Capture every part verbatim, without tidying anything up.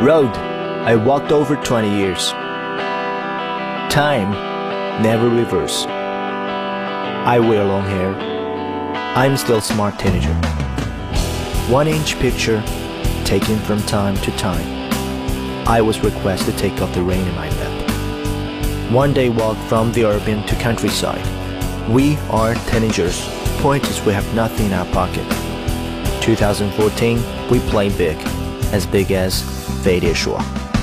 Road I walked over twenty years. Time never reverse. I wear long hair. I'm still smart teenager. One inch picture taken from time to time. I was requested to take off the rain in my bed. One day walk from the urban to countryside. We are teenagers. Point is we have nothing in our pocket. twenty fourteen, we play big, as big as 飞碟说。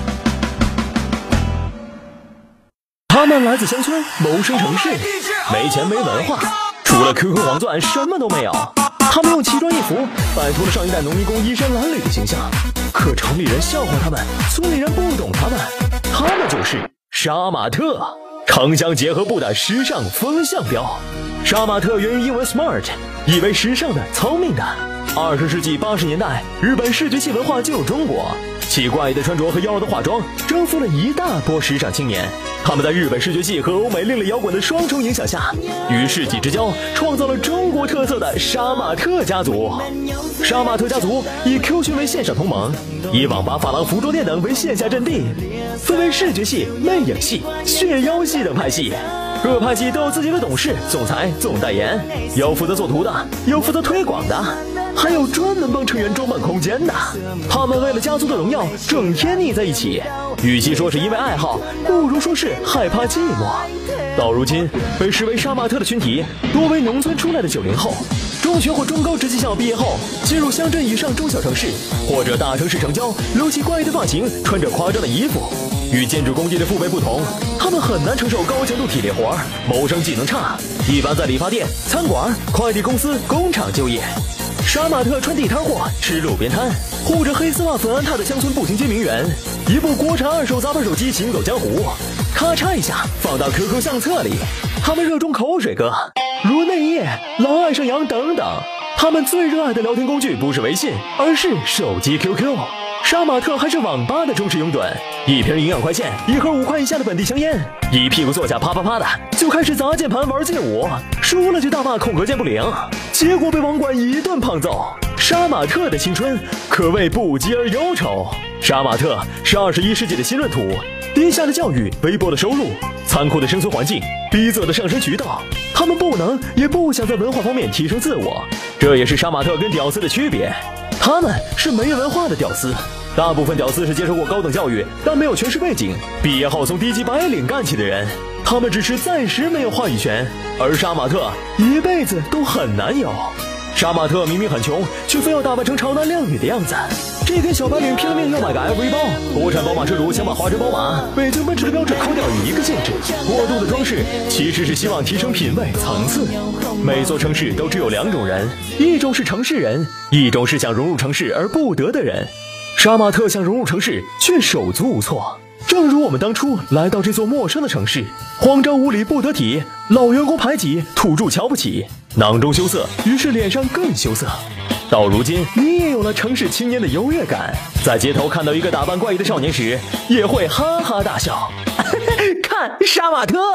他们来自乡村，谋生城市，没钱没文化，除了 Q Q 黄钻什么都没有。他们用奇装异服摆脱了上一代农民工衣衫褴褛的形象，可城里人笑话他们，村里人不懂他们，他们就是杀马特，城乡结合部的时尚风向标。杀马特源于英文 smart， 意为时尚的、聪明的。二十世纪八十年代，日本视觉系文化进入中国，其怪异的穿着和妖娆的化妆征服了一大波时尚青年。他们在日本视觉系和欧美另类摇滚的双重影响下，与世纪之交创造了中国特色的杀马特家族。杀马特家族以 Q 群为线上同盟，以网吧、发廊、服装店等为线下阵地，分为视觉系、魅影系、血妖系等派系。各派系都有自己的董事、总裁、总代言，有负责做图的，有负责推广的，还有专门帮成员装扮空间的。他们为了家族的荣耀，整天腻在一起。与其说是因为爱好，不如说是害怕寂寞。到如今，被视为杀马特的群体多为农村出来的九零后，中学或中高职技校毕业后，进入乡镇以上中小城市或者大城市城郊，留起怪异的发型，穿着夸张的衣服。与建筑工地的父辈不同，他们很难承受高强度体力活，谋生技能差，一般在理发店、餐馆、快递公司、工厂就业。杀马特穿地摊货，吃路边摊，护着黑丝袜粉安踏的乡村步行街名媛，一部国产二手杂牌手机行走江湖，咔嚓一下放到 Q Q 相册里。他们热衷口水歌，如内页、狼爱上羊等等。他们最热爱的聊天工具不是微信，而是手机 Q Q。杀马特还是网吧的忠实拥趸，一瓶营养快线，一盒五块以下的本地香烟，一屁股坐下啪啪啪的就开始砸键盘玩劲舞，输了就大骂空格键不灵，结果被网管一顿胖揍。杀马特的青春可谓不羁而忧愁。杀马特是二十一世纪的新闰土，低下的教育，微薄的收入，残酷的生存环境，逼仄的上升渠道，他们不能也不想在文化方面提升自我，这也是杀马特跟屌丝的区别。他们是没文化的屌丝，大部分屌丝是接受过高等教育但没有权势背景，毕业后从低级白领干起的人，他们只是暂时没有话语权，而杀马特一辈子都很难有。杀马特明明很穷，却非要打扮成潮男靓女的样子。这跟小白领拼了命要买个 L V 包，国产宝马车主想把华晨宝马、北京奔驰的标志抠掉一个性质。过度的装饰其实是希望提升品味层次。每座城市都只有两种人，一种是城市人，一种是想融入城市而不得的人。杀马特想融入城市，却手足无措。正如我们当初来到这座陌生的城市，慌张无礼不得体，老员工排挤，土著瞧不起，囊中羞涩，于是脸上更羞涩。到如今，你也有了城市青年的优越感，在街头看到一个打扮怪异的少年时，也会哈哈大笑。看杀马特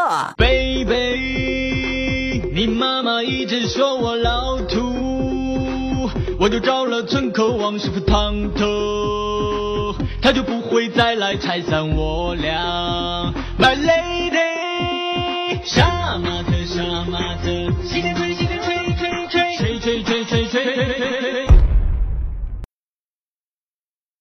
Baby， 你妈妈一直说我老土，我就找了村口王师傅烫头，他就不会再来拆散我俩。My lady